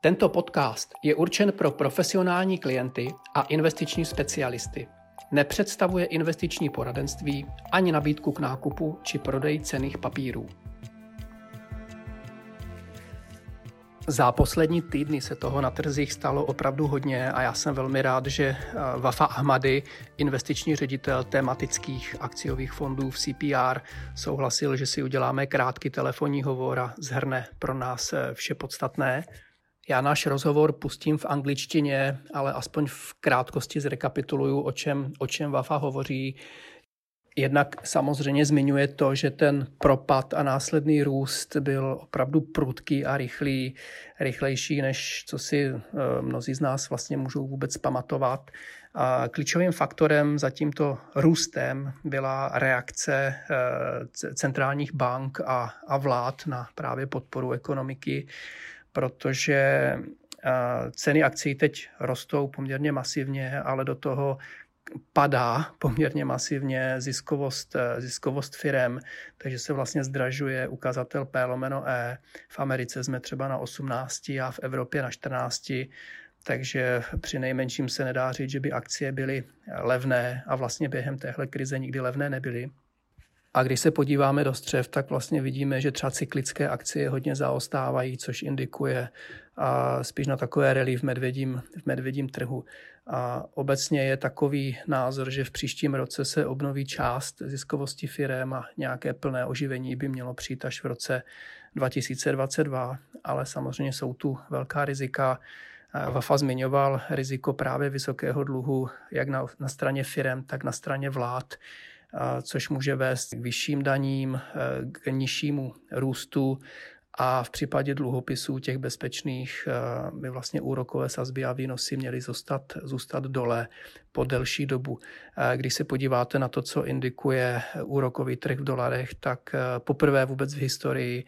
Tento podcast je určen pro profesionální klienty a investiční specialisty. Nepředstavuje investiční poradenství ani nabídku k nákupu či prodeji cenných papírů. Za poslední týdny se toho na trzích stalo opravdu hodně a já jsem velmi rád, že Vafa Ahmadi, investiční ředitel tematických akciových fondů v CPR, souhlasil, že si uděláme krátký telefonní hovor a shrne pro nás vše podstatné. Já náš rozhovor pustím v angličtině, ale aspoň v krátkosti zrekapituluju, o čem Vafa hovoří. Jednak samozřejmě zmiňuje to, že ten propad a následný růst byl opravdu prudký a rychlejší, než co si mnozí z nás vlastně můžou vůbec pamatovat. A klíčovým faktorem za tímto růstem byla reakce centrálních bank a vlád na právě podporu ekonomiky, protože ceny akcií teď rostou poměrně masivně, ale do toho padá poměrně masivně ziskovost firem, takže se vlastně zdražuje ukazatel P/E. V Americe jsme třeba na 18 a v Evropě na 14, takže při nejmenším se nedá říct, že by akcie byly levné a vlastně během téhle krize nikdy levné nebyly. A když se podíváme do střev, tak vlastně vidíme, že třeba cyklické akcie hodně zaostávají, což indikuje spíš na takové rally v medvědím trhu. A obecně je takový názor, že v příštím roce se obnoví část ziskovosti firem a nějaké plné oživení by mělo přijít až v roce 2022, ale samozřejmě jsou tu velká rizika. Vafa zmiňoval riziko právě vysokého dluhu, jak na straně firem, tak na straně vlád, což může vést k vyšším daním, k nižšímu růstu a v případě dluhopisů těch bezpečných by vlastně úrokové sazby a výnosy měly zůstat dole po delší dobu. Když se podíváte na to, co indikuje úrokový trh v dolarech, tak poprvé vůbec v historii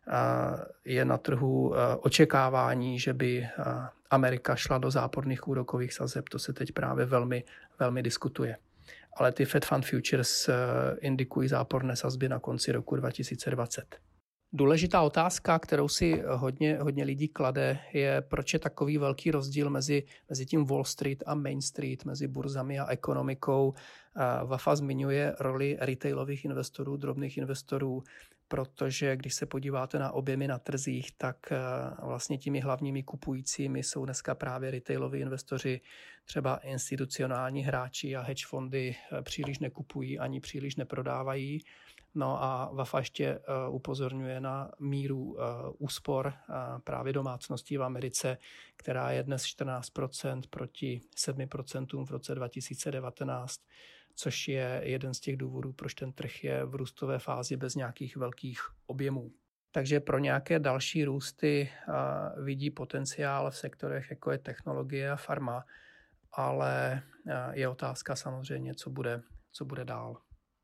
je na trhu očekávání, že by Amerika šla do záporných úrokových sazeb. To se teď právě velmi, velmi diskutuje. Ale ty Fed Fund Futures indikují záporné sazby na konci roku 2020. Důležitá otázka, kterou si hodně lidí klade, je, proč je takový velký rozdíl mezi tím Wall Street a Main Street, mezi burzami a ekonomikou. Vafa zmiňuje roli retailových investorů, drobných investorů, protože když se podíváte na objemy na trzích, tak vlastně těmi hlavními kupujícími jsou dneska právě retailoví investoři, třeba institucionální hráči a hedge fondy příliš nekupují ani příliš neprodávají. No a Vafa ještě upozorňuje na míru úspor právě domácností v Americe, která je dnes 14% proti 7% v roce 2019, což je jeden z těch důvodů, proč ten trh je v růstové fázi bez nějakých velkých objemů. Takže pro nějaké další růsty vidí potenciál v sektorech, jako je technologie a farma, ale je otázka samozřejmě, co bude dál.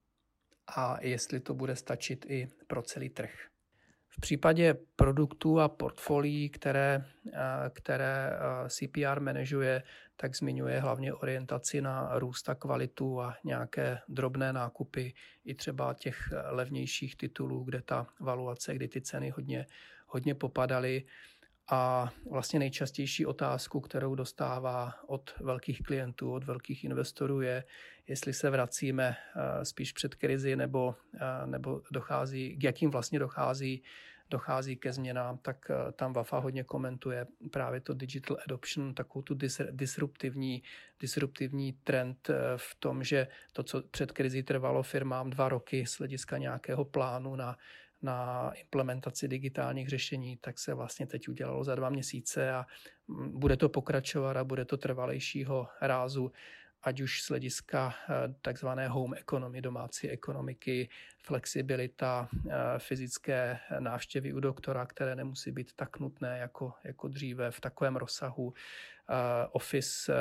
A jestli to bude stačit i pro celý trh. V případě produktů a portfolií, které CPR manažuje, tak zmiňuje hlavně orientaci na růst a kvalitu a nějaké drobné nákupy i třeba těch levnějších titulů, kde ta valuace, kdy ty ceny hodně popadaly. A vlastně nejčastější otázku, kterou dostává od velkých klientů, od velkých investorů je, jestli se vracíme spíš před krizi nebo dochází, k jakým vlastně dochází ke změnám, tak tam Vafa hodně komentuje právě to digital adoption, takovou tu disruptivní trend v tom, že to, co před krizí trvalo firmám 2 roky z hlediska nějakého plánu na implementaci digitálních řešení, tak se vlastně teď udělalo za 2 měsíce a bude to pokračovat a bude to trvalejšího rázu, ať už z hlediska takzvané home economy, domácí ekonomiky, flexibilita, fyzické návštěvy u doktora, které nemusí být tak nutné jako dříve v takovém rozsahu, office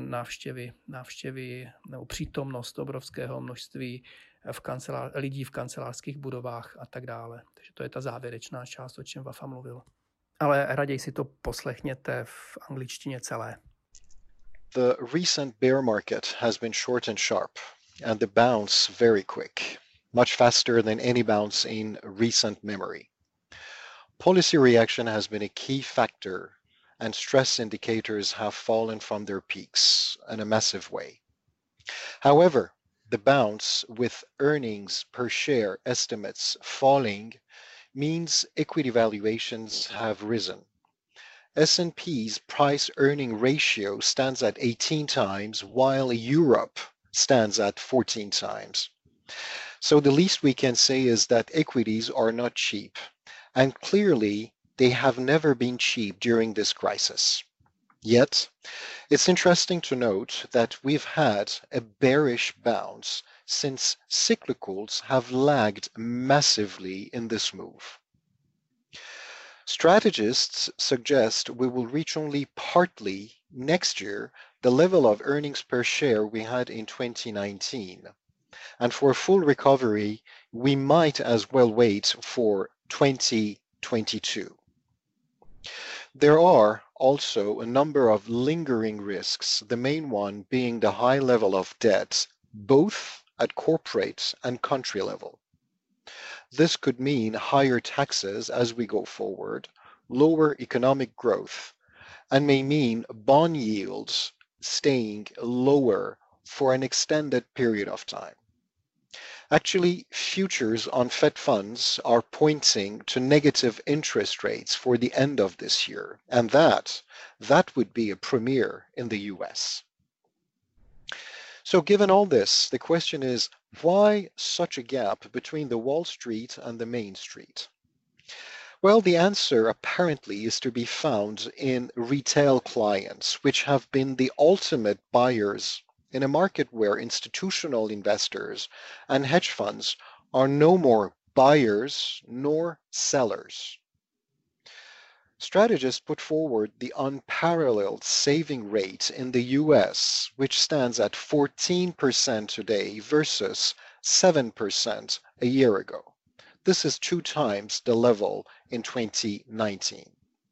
návštěvy nebo přítomnost obrovského množství lidí v kancelářských budovách a tak dále. Takže to je ta závěrečná část, o čem Vafa mluvil. Ale raději si to poslechněte v angličtině celé. The recent bear market has been short and sharp, and the bounce very quick, much faster than any bounce in recent memory. Policy reaction has been a key factor and stress indicators have fallen from their peaks in a massive way. However, the bounce with earnings per share estimates falling means equity valuations have risen. S&P's price-earning ratio stands at 18 times, while Europe stands at 14 times. So the least we can say is that equities are not cheap, and clearly they have never been cheap during this crisis. Yet, it's interesting to note that we've had a bearish bounce since cyclicals have lagged massively in this move. Strategists suggest we will reach only partly next year the level of earnings per share we had in 2019. And for a full recovery, we might as well wait for 2022. There are also a number of lingering risks, the main one being the high level of debt, both at corporate and country level. This could mean higher taxes as we go forward, lower economic growth, and may mean bond yields staying lower for an extended period of time. Actually, futures on Fed funds are pointing to negative interest rates for the end of this year, and that would be a premiere in the US. So given all this, the question is, why such a gap between the Wall Street and the Main Street? Well, the answer apparently is to be found in retail clients, which have been the ultimate buyers in a market where institutional investors and hedge funds are no more buyers nor sellers. Strategists put forward the unparalleled saving rate in the US, which stands at 14% today versus 7% a year ago. This is 2 times the level in 2019.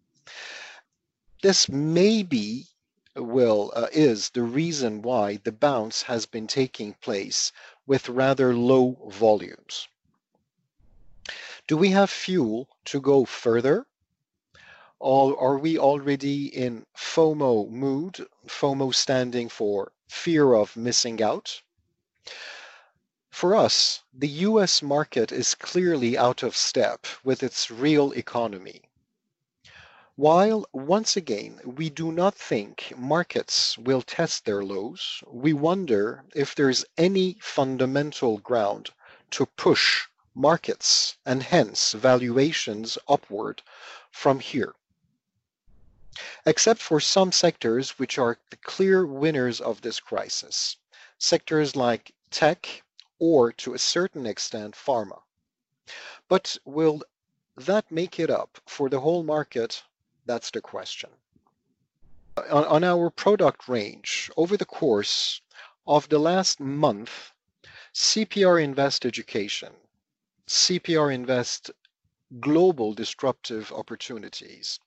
This maybe is the reason why the bounce has been taking place with rather low volumes. Do we have fuel to go further? Or are we already in FOMO mood, FOMO standing for fear of missing out? For us, the US market is clearly out of step with its real economy. While, once again, we do not think markets will test their lows, we wonder if there's any fundamental ground to push markets and hence valuations upward from here. Except for some sectors which are the clear winners of this crisis, sectors like tech or, to a certain extent, pharma. But will that make it up for the whole market? That's the question. On our product range, over the course of the last month, CPR Invest Education, CPR Invest Global Disruptive Opportunities,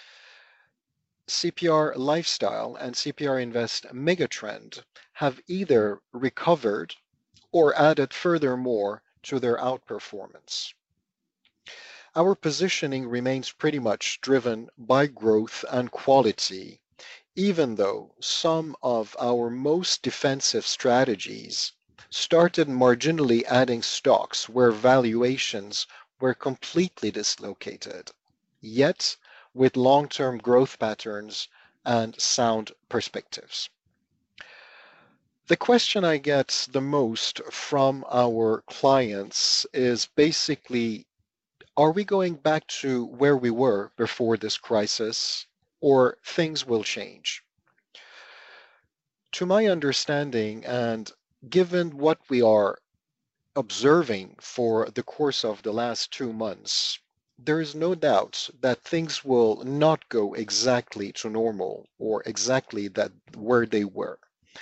CPR Lifestyle, and CPR Invest Megatrend have either recovered or added furthermore to their outperformance. Our positioning remains pretty much driven by growth and quality, even though some of our most defensive strategies started marginally adding stocks where valuations were completely dislocated, yet with long-term growth patterns and sound perspectives. The question I get the most from our clients is basically, are we going back to where we were before this crisis, or things will change? To my understanding, and given what we are observing for the course of the last 2 months, there is no doubt that things will not go exactly to normal or exactly that where they were.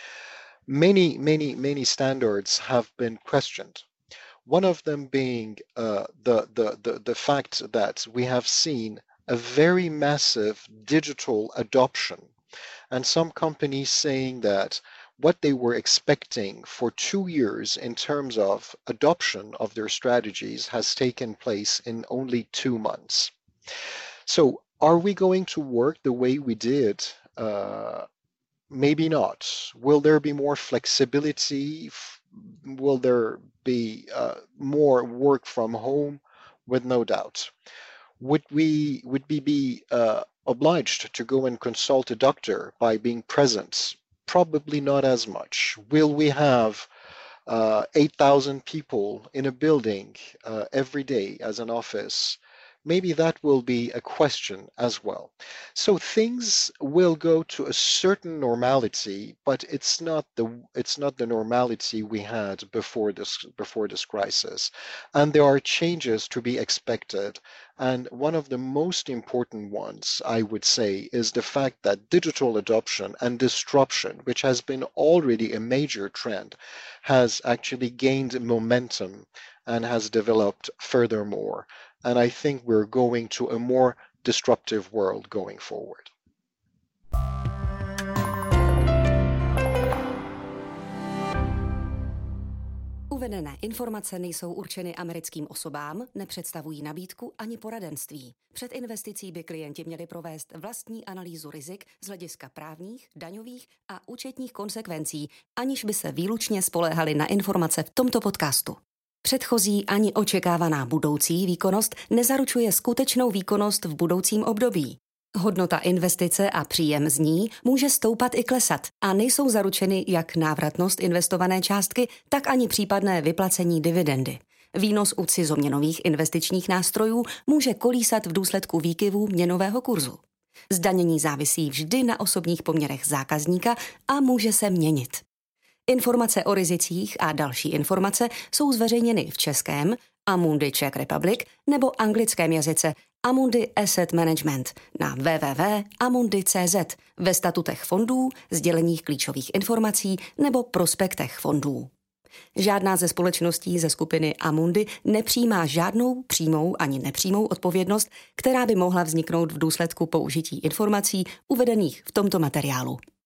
Many standards have been questioned. One of them being the fact that we have seen a very massive digital adoption, and some companies saying that what they were expecting for 2 years in terms of adoption of their strategies has taken place in only 2 months. So Are we going to work the way we did? Maybe not. Will there be more flexibility? Will there be more work from home? With no doubt. Would we be obliged to go and consult a doctor by being present? Probably not as much. Will we have 8,000 people in a building every day as an office? Maybe that will be a question as well. So things will go to a certain normality, but it's not the normality we had before this crisis. And there are changes to be expected. And one of the most important ones, I would say, is the fact that digital adoption and disruption, which has been already a major trend, has actually gained momentum and has developed furthermore. And I think we're going to a more disruptive world going forward. Uvedené informace nejsou určeny americkým osobám, nepředstavují nabídku ani poradenství. Před investicí by klienti měli provést vlastní analýzu rizik z hlediska právních, daňových a účetních konsekvencí, aniž by se výlučně spoléhali na informace v tomto podcastu. Předchozí ani očekávaná budoucí výkonnost nezaručuje skutečnou výkonnost v budoucím období. Hodnota investice a příjem z ní může stoupat i klesat a nejsou zaručeny jak návratnost investované částky, tak ani případné vyplacení dividendy. Výnos u cizoměnových investičních nástrojů může kolísat v důsledku výkyvů měnového kurzu. Zdanění závisí vždy na osobních poměrech zákazníka a může se měnit. Informace o rizicích a další informace jsou zveřejněny v českém Amundi Czech Republic nebo anglickém jazyce Amundi Asset Management na www.amundi.cz, ve statutech fondů, sděleních klíčových informací nebo prospektech fondů. Žádná ze společností ze skupiny Amundi nepřijímá žádnou přímou ani nepřímou odpovědnost, která by mohla vzniknout v důsledku použití informací uvedených v tomto materiálu.